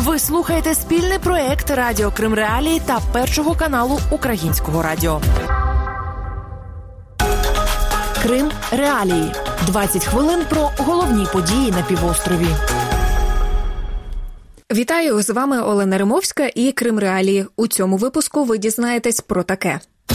Ви слухаєте спільний проєкт Радіо Крим Реалії та Першого каналу Українського радіо. Крим Реалії. 20 хвилин про головні події на півострові. Вітаю, з вами Олена Римовська і Крим Реалії. У цьому випуску ви дізнаєтесь про таке.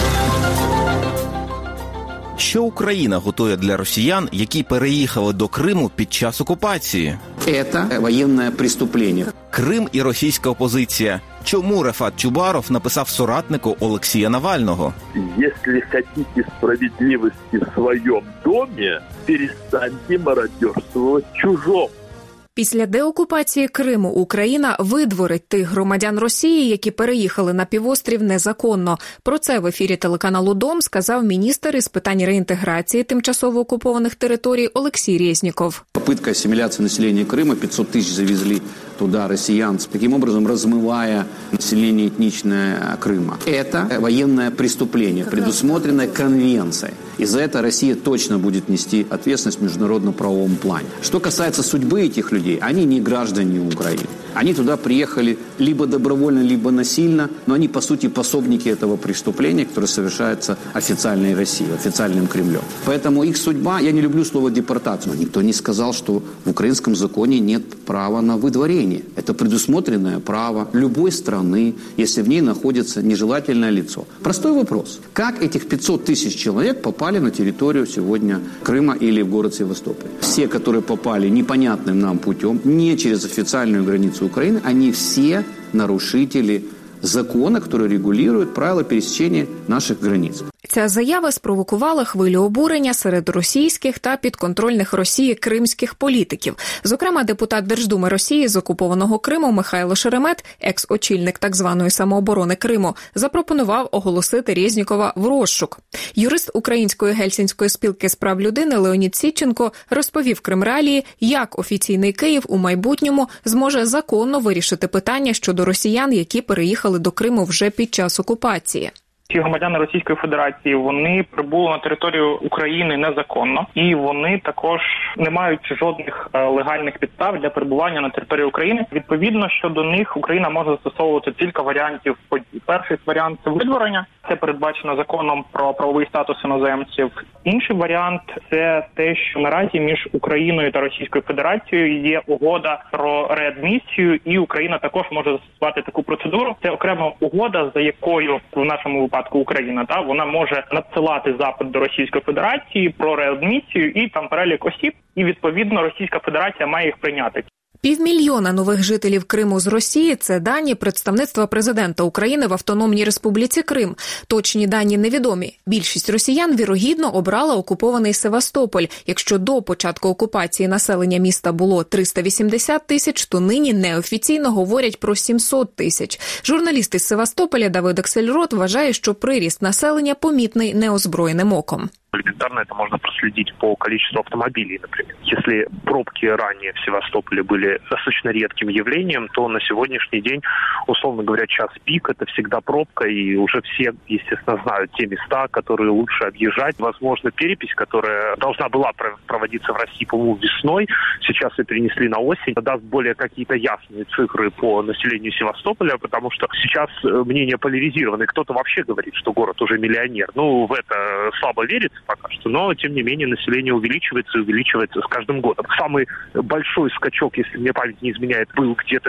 Що Україна готує для росіян, які переїхали до Криму під час окупації? Це воєнне преступлення. Крим і російська опозиція. Чому Рефат Чубаров написав соратнику Олексія Навального? Якщо хочете справедливості в своєму домі, перестаньте мародерствувати чужому. Після деокупації Криму Україна видворить тих громадян Росії, які переїхали на півострів незаконно. Про це в ефірі телеканалу «Дом» сказав міністр із питань реінтеграції тимчасово окупованих територій Олексій Резніков. Попытка ассимиляции населения Крыма, 500 тысяч завезли туда россиян, таким образом размывая население этничное Крыма. Это военное преступление, предусмотренное конвенцией. И за это Россия точно будет нести ответственность в международно-правовом плане. Что касается судьбы этих людей, они не граждане Украины. Они туда приехали либо добровольно, либо насильно, но они, по сути, пособники этого преступления, которое совершается официальной Россией, официальным Кремлем. Поэтому их судьба, я не люблю слово депортация, но никто не сказал, что в украинском законе нет права на выдворение. Это предусмотренное право любой страны, если в ней находится нежелательное лицо. Простой вопрос. Как этих 500 тысяч человек попали на территорию сегодня Крыма или в город Севастополь? Все, которые попали непонятным нам путем, не через официальную границу Украины, они все нарушители закона, который регулирует правила пересечения наших границ. Ця заява спровокувала хвилю обурення серед російських та підконтрольних Росії кримських політиків. Зокрема, депутат Держдуми Росії з окупованого Криму Михайло Шеремет, екс-очільник так званої самооборони Криму, запропонував оголосити Резнікова в розшук. Юрист Української Гельсінської спілки з прав людини Леонід Сідченко розповів Крим Реалії, як офіційний Київ у майбутньому зможе законно вирішити питання щодо росіян, які переїхали до Криму вже під час окупації. Ці громадяни Російської Федерації, вони прибули на територію України незаконно, і вони також не мають жодних легальних підстав для перебування на території України. Відповідно, щодо них Україна може застосовувати кілька варіантів подій. Перший варіант – це видворення. Це передбачено законом про правовий статус іноземців. Інший варіант – це те, що наразі між Україною та Російською Федерацією є угода про реадмісію, і Україна також може застосувати таку процедуру. Це окрема угода, за якою в нашому випадку Україна, вона може надсилати запит до Російської Федерації про реадмісію і там перелік осіб, і відповідно Російська Федерація має їх прийняти. 500 000 нових жителів Криму з Росії – це дані представництва президента України в Автономній Республіці Крим. Точні дані невідомі. Більшість росіян, вірогідно, обрала окупований Севастополь. Якщо до початку окупації населення міста було 380 тисяч, то нині неофіційно говорять про 700 тисяч. Журналіст із Севастополя Давид Аксельрод вважає, що приріст населення помітний неозброєним оком. Элементарно это можно проследить по количеству автомобилей, например. Если пробки ранее в Севастополе были достаточно редким явлением, то на сегодняшний день, условно говоря, час пик – это всегда пробка, и уже все, естественно, знают те места, которые лучше объезжать. Возможно, перепись, которая должна была проводиться в России, по-моему, весной, сейчас ее перенесли на осень, даст более какие-то ясные цифры по населению Севастополя, потому что сейчас мнения поляризированы. Кто-то вообще говорит, что город уже миллионер. В это слабо верится пока что, но, тем не менее, население увеличивается и увеличивается с каждым годом. Самый большой скачок, если мне память не изменяет, был где-то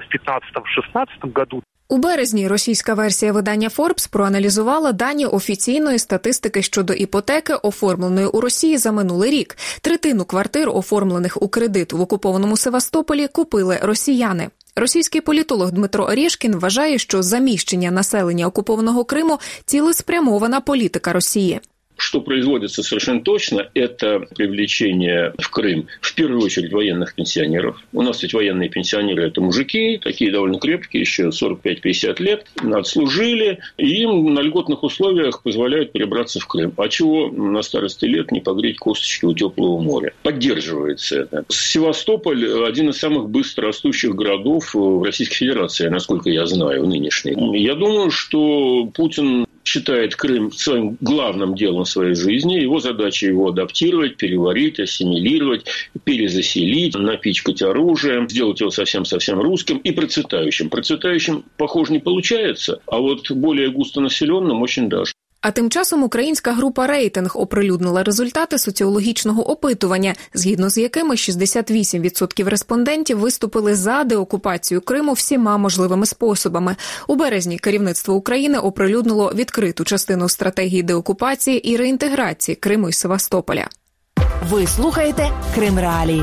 в 2015-2016 году. У березні російська версія видання Forbes проаналізувала дані офіційної статистики щодо іпотеки, оформленої у Росії за минулий рік. Третину квартир, оформлених у кредит в окупованому Севастополі, купили росіяни. Російський політолог Дмитро Орешкін вважає, що заміщення населення окупованого Криму – цілеспрямована політика Росії. Что производится совершенно точно, это привлечение в Крым, в первую очередь, военных пенсионеров. У нас ведь военные пенсионеры – это мужики, такие довольно крепкие, еще 45-50 лет, отслужили, и им на льготных условиях позволяют перебраться в Крым. А чего на старости лет не погреть косточки у теплого моря? Поддерживается это. Севастополь – один из самых быстро растущих городов в Российской Федерации, насколько я знаю, нынешний. Я думаю, что Путин считает Крым своим главным делом в своей жизни. Его задача его адаптировать, переварить, ассимилировать, перезаселить, напичкать оружием, сделать его совсем-совсем русским и процветающим. Процветающим, похоже, не получается, а вот более густонаселенным очень даже. А тим часом українська група «Рейтинг» оприлюднила результати соціологічного опитування, згідно з якими 68% респондентів виступили за деокупацію Криму всіма можливими способами. У березні керівництво України оприлюднило відкриту частину стратегії деокупації і реінтеграції Криму і Севастополя. Ви слухаєте Крим Реалії.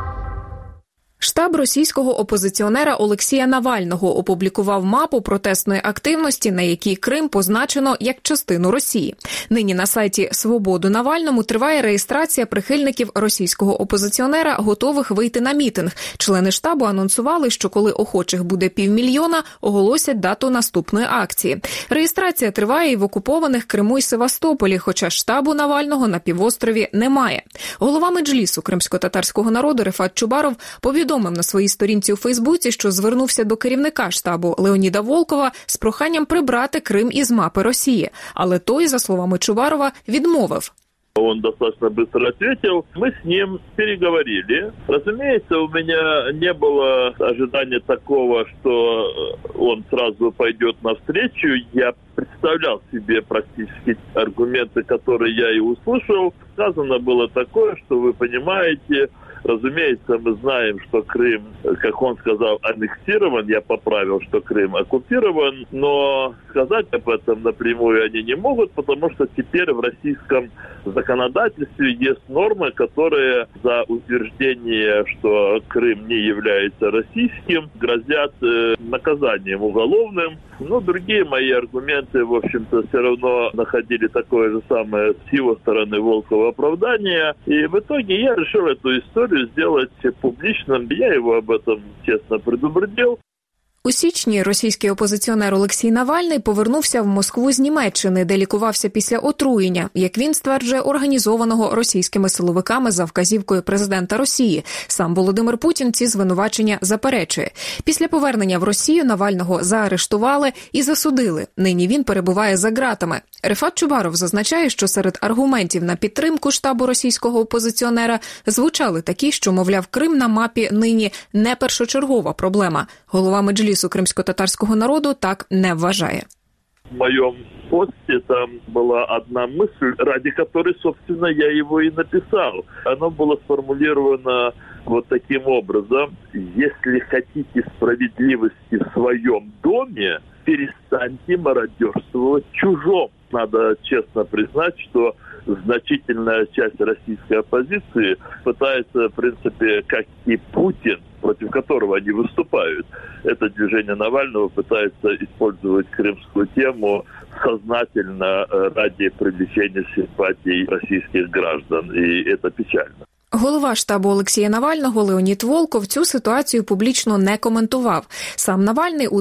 Штаб російського опозиціонера Олексія Навального опублікував мапу протестної активності, на якій Крим позначено як частину Росії. Нині на сайті «Свободу Навальному» триває реєстрація прихильників російського опозиціонера, готових вийти на мітинг. Члени штабу анонсували, що коли охочих буде 500 000, оголосять дату наступної акції. Реєстрація триває і в окупованих Криму і Севастополі, хоча штабу Навального на півострові немає. Голова Меджлісу кримсько-татарського народу Рефат Чубаров повідомив на своїй сторінці у Фейсбуці, що звернувся до керівника штабу Леоніда Волкова з проханням прибрати Крим із мапи Росії. Але той, за словами Чубарова, відмовив. Он достаточно быстро ответил. Мы с ним переговорили. Разумеется, у меня не было ожидания такого, что он сразу пойдет навстречу. Я представлял себе практически аргументы, которые я и услышал. Сказано было такое, что вы понимаете, разумеется, мы знаем, что Крым, как он сказал, аннексирован. Я поправил, что Крым оккупирован. Но сказать об этом напрямую они не могут, потому что теперь в российском законодательстве есть нормы, которые за утверждение, что Крым не является российским, грозят наказанием уголовным. Но другие мои аргументы, в общем-то, все равно находили такое же самое с его стороны Волкова оправдание. И в итоге я решил эту историю сделать публичным. Я его об этом честно предупредил. У січні російський опозиціонер Олексій Навальний повернувся в Москву з Німеччини, де лікувався після отруєння, як він стверджує, організованого російськими силовиками за вказівкою президента Росії. Сам Володимир Путін ці звинувачення заперечує. Після повернення в Росію Навального заарештували і засудили. Нині він перебуває за ґратами. Рефат Чубаров зазначає, що серед аргументів на підтримку штабу російського опозиціонера звучали такі, що, мовляв, Крим на мапі нині не першочергова проблема. Голова Меджлісу кримсько-татарського народу так не вважає. В моем посте там была одна мысль, ради которой, собственно, я его и написал. Оно было сформулировано вот таким образом. Если хотите справедливости в своем доме, перестаньте мародерствовать в чужом. Надо честно признать, что значительная часть российской оппозиции пытается, в принципе, как и Путин, против которого они выступают, это движение Навального пытается использовать крымскую тему сознательно ради привлечения симпатий российских граждан. И это печально. Голова штабу Олексія Навального Леонід Волков цю ситуацію публічно не коментував. Сам Навальний у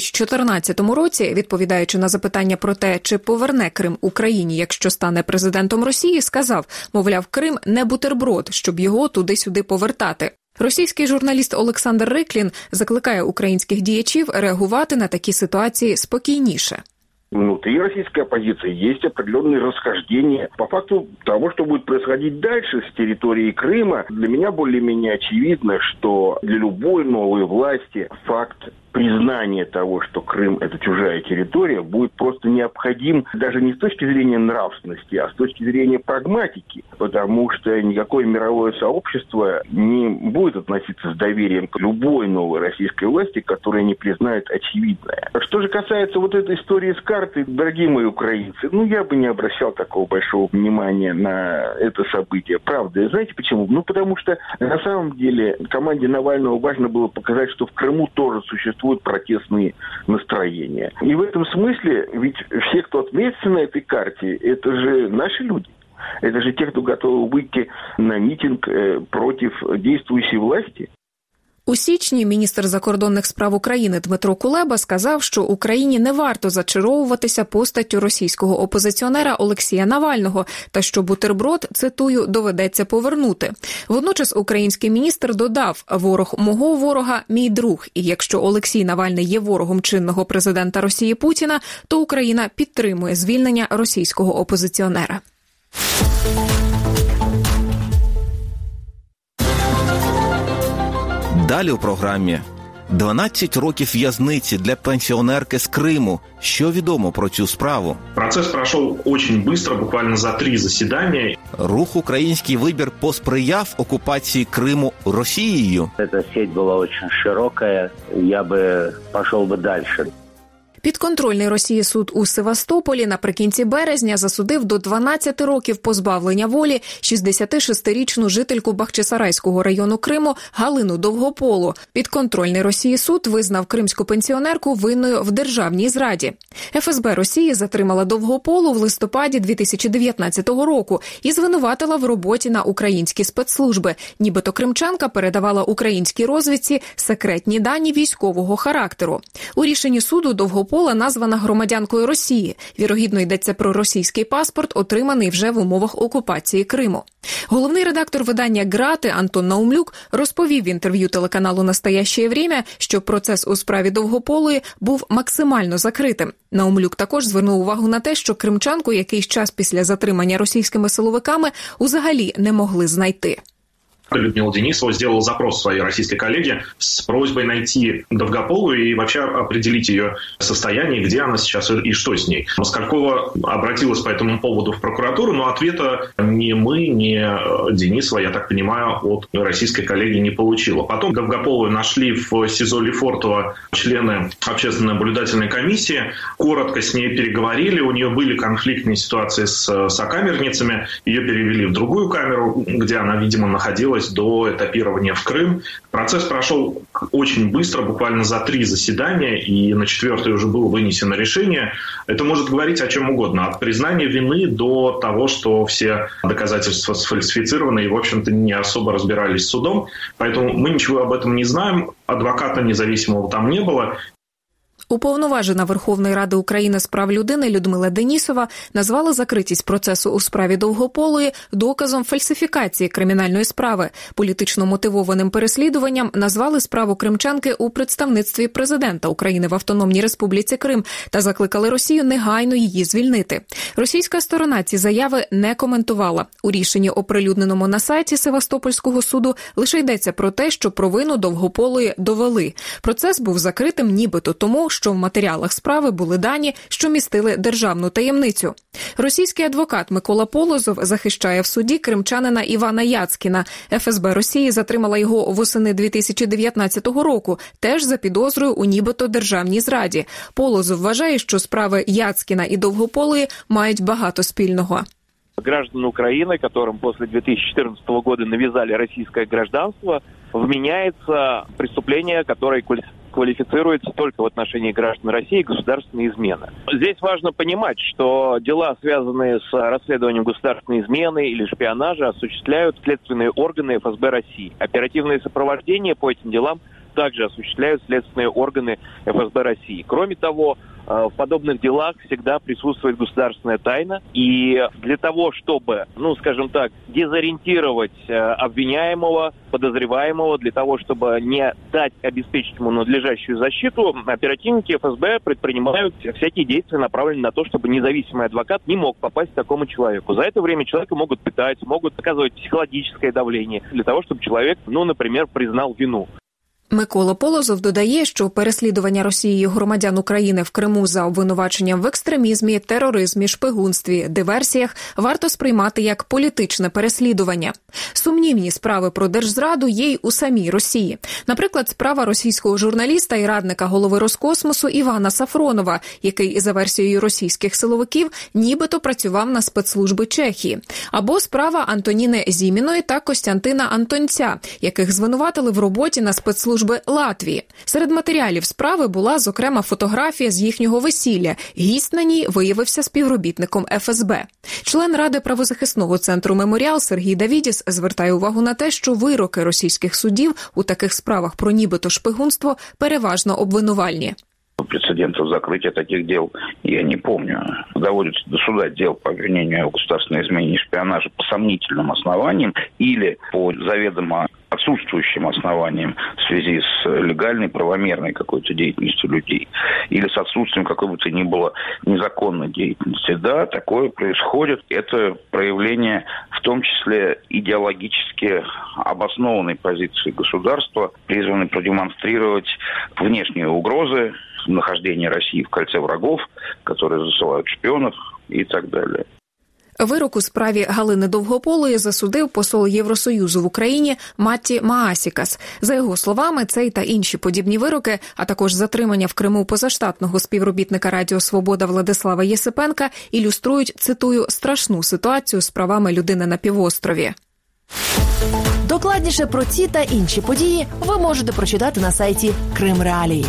2014 році, відповідаючи на запитання про те, чи поверне Крим Україні, якщо стане президентом Росії, сказав, мовляв, Крим не бутерброд, щоб його туди-сюди повертати. Російський журналіст Олександр Риклін закликає українських діячів реагувати на такі ситуації спокійніше. Внутри российской оппозиции есть определенные расхождения. По факту того, что будет происходить дальше с территории Крыма, для меня более-менее очевидно, что для любой новой власти факт признание того, что Крым – это чужая территория, будет просто необходим даже не с точки зрения нравственности, а с точки зрения прагматики, потому что никакое мировое сообщество не будет относиться с доверием к любой новой российской власти, которая не признает очевидное. Что же касается вот этой истории с картой, дорогие мои украинцы, я бы не обращал такого большого внимания на это событие. Правда, знаете почему? Потому что на самом деле команде Навального важно было показать, что в Крыму тоже существует протестные настроения. И в этом смысле, ведь все, кто отметится на этой карте, это же наши люди. Это же те, кто готовы выйти на митинг против действующей власти. У січні міністр закордонних справ України Дмитро Кулеба сказав, що Україні не варто зачаровуватися постаттю російського опозиціонера Олексія Навального та що бутерброд, цитую, доведеться повернути. Водночас український міністр додав: «Ворог мого ворога – мій друг, і якщо Олексій Навальний є ворогом чинного президента Росії Путіна, то Україна підтримує звільнення російського опозиціонера». Далі у програмі. 12 років в'язниці для пенсіонерки з Криму. Що відомо про цю справу? Процес пройшов дуже швидко, буквально за 3 засідання. Рух «Український вибір» посприяв окупації Криму Росією. Ця сеть була дуже широка, я би пішов далі. Підконтрольний Росії суд у Севастополі наприкінці березня засудив до 12 років позбавлення волі 66-річну жительку Бахчисарайського району Криму Галину Довгополу. Підконтрольний Росії суд визнав кримську пенсіонерку винною в державній зраді. ФСБ Росії затримала Довгополу в листопаді 2019 року і звинуватила в роботі на українські спецслужби. Нібито кримчанка передавала українській розвідці секретні дані військового характеру. У рішенні суду Довгопола названа громадянкою Росії. Вірогідно, йдеться про російський паспорт, отриманий вже в умовах окупації Криму. Головний редактор видання «Грати» Антон Наумлюк розповів в інтерв'ю телеканалу «Настоящее время», що процес у справі Довгополої був максимально закритим. Наумлюк також звернув увагу на те, що кримчанку якийсь час після затримання російськими силовиками взагалі не могли знайти. Людмила Денисова сделала запрос своей российской коллеге с просьбой найти Довгополу и вообще определить ее состояние, где она сейчас и что с ней. Москалькова обратилась по этому поводу в прокуратуру, но ответа ни мы, ни Денисова, я так понимаю, от российской коллеги не получила. Потом Довгополу нашли в СИЗО Лефортово члены общественной наблюдательной комиссии, коротко с ней переговорили, у нее были конфликтные ситуации с сокамерницами, ее перевели в другую камеру, где она, видимо, находилась до этапирования в Крым. Процесс прошел очень быстро, буквально за 3 засідання, и на 4-е уже было вынесено решение. Это может говорить о чем угодно, от признания вины до того, что все доказательства сфальсифицированы и, в общем-то, не особо разбирались с судом. Поэтому мы ничего об этом не знаем, адвоката независимого там не было. Уповноважена Верховної Ради України з прав людини Людмила Денісова назвала закритість процесу у справі Довгополої доказом фальсифікації кримінальної справи. Політично мотивованим переслідуванням назвали справу кримчанки у представництві президента України в Автономній Республіці Крим та закликали Росію негайно її звільнити. Російська сторона ці заяви не коментувала. У рішенні, оприлюдненому на сайті Севастопольського суду, лише йдеться про те, що провину Довгополої довели. Процес був закритим нібито тому, що в матеріалах справи були дані, що містили державну таємницю. Російський адвокат Микола Полозов захищає в суді кримчанина Івана Яцкіна. ФСБ Росії затримала його восени 2019 року, теж за підозрою у нібито державній зраді. Полозов вважає, що справи Яцкіна і Довгополої мають багато спільного. Граждан Украины, которым после 2014 года навязали российское гражданство, вменяется преступление, которое квалифицируется только в отношении граждан России государственной измены. Здесь важно понимать, что дела, связанные с расследованием государственной измены или шпионажа, осуществляют следственные органы ФСБ России. Оперативное сопровождение по этим делам также осуществляют следственные органы ФСБ России. Кроме того, в подобных делах всегда присутствует государственная тайна. И для того, чтобы, скажем так, дезориентировать обвиняемого, подозреваемого, для того, чтобы не дать обеспечить ему надлежащую защиту, оперативники ФСБ предпринимают всякие действия, направленные на то, чтобы независимый адвокат не мог попасть к такому человеку. За это время человека могут пытать, могут оказывать психологическое давление для того, чтобы человек, например, признал вину. Микола Полозов додає, що переслідування Росією громадян України в Криму за обвинуваченням в екстремізмі, тероризмі, шпигунстві, диверсіях варто сприймати як політичне переслідування. Сумнівні справи про держзраду є й у самій Росії. Наприклад, справа російського журналіста і радника голови Роскосмосу Івана Сафронова, який, за версією російських силовиків, нібито працював на спецслужби Чехії. Або справа Антоніни Зіміної та Костянтина Антонця, яких звинуватили в роботі на спецслужби служби Латвії. Серед матеріалів справи була, зокрема, фотографія з їхнього весілля. Гість на ній виявився співробітником ФСБ. Член Ради правозахисного центру «Меморіал» Сергій Давідіс звертає увагу на те, що вироки російських судів у таких справах про нібито шпигунство переважно обвинувальні. Прецедентов закрытия таких дел я не помню. Доводится до суда дел по обвинению в государственной измене и шпионаже по сомнительным основаниям или по заведомо отсутствующим основаниям в связи с легальной, правомерной какой-то деятельностью людей или с отсутствием какой бы то ни было незаконной деятельности. Да, такое происходит. Это проявление в том числе идеологически обоснованной позиции государства, призванной продемонстрировать внешние угрозы, нахождение России в кольце врагов, которые засылают шпионов и так далее. Вирок у справі Галини Довгополої засудив посол Євросоюзу в Україні Матті Маасікас. За його словами, цей та інші подібні вироки, а також затримання в Криму позаштатного співробітника Радіо Свобода Владислава Єсипенка ілюструють, цитую, страшну ситуацію з правами людини на півострові. Докладніше про ці та інші події ви можете прочитати на сайті Крим Реалії.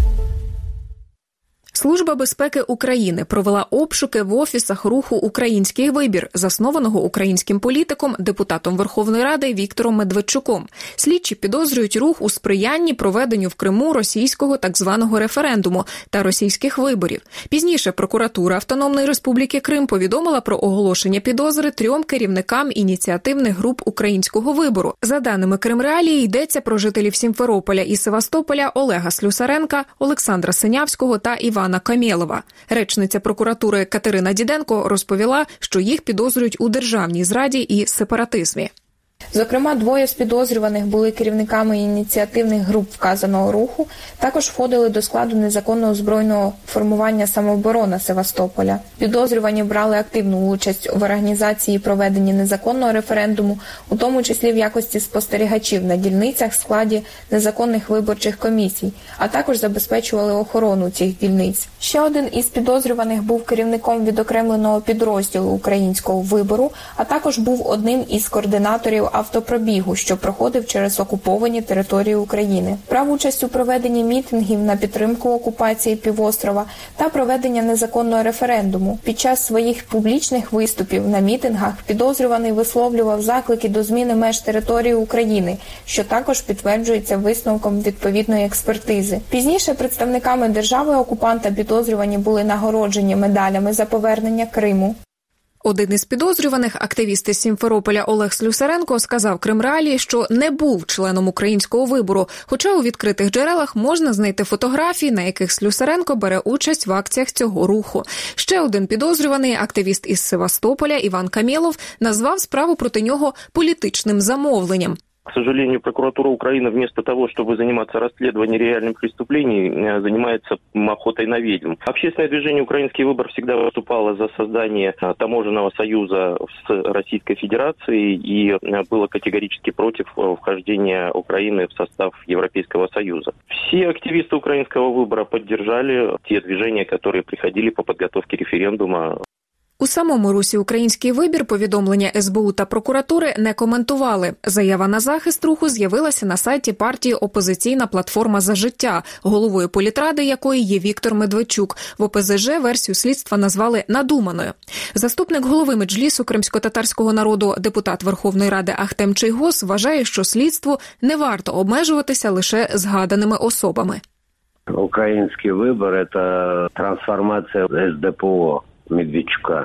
Служба безпеки України провела обшуки в офісах руху «Український вибір», заснованого українським політиком, депутатом Верховної Ради Віктором Медведчуком. Слідчі підозрюють рух у сприянні проведенню в Криму російського так званого референдуму та російських виборів. Пізніше прокуратура Автономної Республіки Крим повідомила про оголошення підозри 3 керівникам ініціативних груп українського вибору. За даними Крим Реалії, йдеться про жителів Сімферополя і Севастополя Олега Слюсаренка, Олександра Синявського та Івана Камєлова. Речниця прокуратури Катерина Діденко розповіла, що їх підозрюють у державній зраді і сепаратизмі. Зокрема, 2 з підозрюваних були керівниками ініціативних груп вказаного руху, також входили до складу незаконного збройного формування «Самооборона» Севастополя. Підозрювані брали активну участь в організації і проведенні незаконного референдуму, у тому числі в якості спостерігачів на дільницях в складі незаконних виборчих комісій, а також забезпечували охорону цих дільниць. Ще один із підозрюваних був керівником відокремленого підрозділу українського вибору, а також був одним із координаторів автопробігу, що проходив через окуповані території України. Брав участь у проведенні мітингів на підтримку окупації півострова та проведення незаконного референдуму. Під час своїх публічних виступів на мітингах підозрюваний висловлював заклики до зміни меж території України, що також підтверджується висновком відповідної експертизи. Пізніше представниками держави-окупанта підозрювані були нагороджені медалями за повернення Криму. Один із підозрюваних, активіст із Сімферополя Олег Слюсаренко, сказав Крим Реалії, що не був членом українського вибору, хоча у відкритих джерелах можна знайти фотографії, на яких Слюсаренко бере участь в акціях цього руху. Ще один підозрюваний, активіст із Севастополя Іван Камєлов, назвав справу проти нього політичним замовленням. К сожалению, прокуратура Украины вместо того, чтобы заниматься расследованием реальных преступлений, занимается охотой на ведьм. Общественное движение «Украинский выбор» всегда выступало за создание таможенного союза с Российской Федерацией и было категорически против вхождения Украины в состав Европейского Союза. Все активисты «Украинского выбора» поддержали те движения, которые приходили по подготовке референдума. У самому русі «Український вибір» повідомлення СБУ та прокуратури не коментували. Заява на захист руху з'явилася на сайті партії «Опозиційна платформа за життя», головою політради якої є Віктор Медведчук. В ОПЗЖ версію слідства назвали надуманою. Заступник голови Меджлісу кримсько-татарського народу, депутат Верховної Ради Ахтем Чийгоз вважає, що слідству не варто обмежуватися лише згаданими особами. «Український вибір» – це трансформація СДПО Медведчука.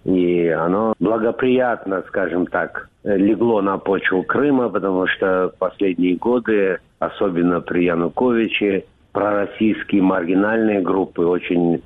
И оно благоприятно, скажем так, легло на почву Крыма, потому что в последние годы, особенно при Януковиче, пророссийские маргинальные группы очень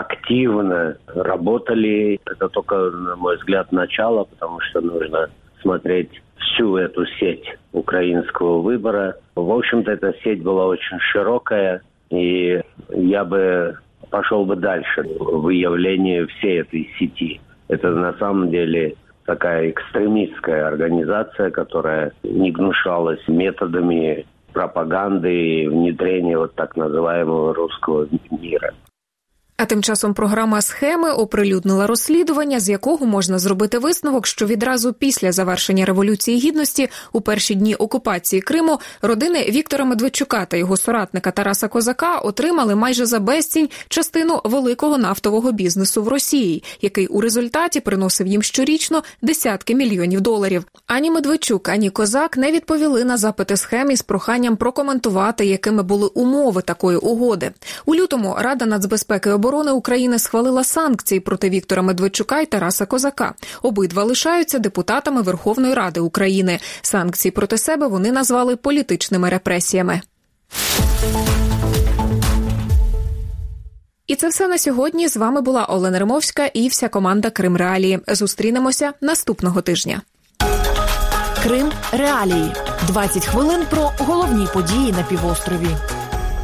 активно работали. Это только, на мой взгляд, начало, потому что нужно смотреть всю эту сеть украинского выбора. В общем-то, эта сеть была очень широкая, и я бы пошел бы дальше в выявлении всей этой сети. Это на самом деле такая экстремистская организация, которая не гнушалась методами пропаганды и внедрения вот так называемого русского мира. А тим часом програма «Схеми» оприлюднила розслідування, з якого можна зробити висновок, що відразу після завершення Революції Гідності, у перші дні окупації Криму, родини Віктора Медведчука та його соратника Тараса Козака отримали майже за безцінь частину великого нафтового бізнесу в Росії, який у результаті приносив їм щорічно десятки мільйонів доларів. Ані Медведчук, ані Козак не відповіли на запити «Схем» із проханням прокоментувати, якими були умови такої угоди. У лютому Рада нацбезпеки і оборони України схвалила санкції проти Віктора Медведчука і Тараса Козака. Обидва лишаються депутатами Верховної Ради України. Санкції проти себе вони назвали політичними репресіями. І це все на сьогодні. З вами була Олена Римовська і вся команда Крим Реалії. Зустрінемося наступного тижня. Крим Реалії. 20 хвилин про головні події на півострові.